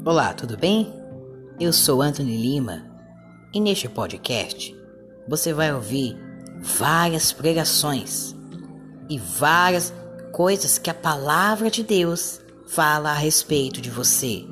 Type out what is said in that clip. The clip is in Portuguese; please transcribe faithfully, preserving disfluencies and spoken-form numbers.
Olá, tudo bem? Eu sou Anthony Lima e neste podcast você vai ouvir várias pregações e várias coisas que a palavra de Deus fala a respeito de você.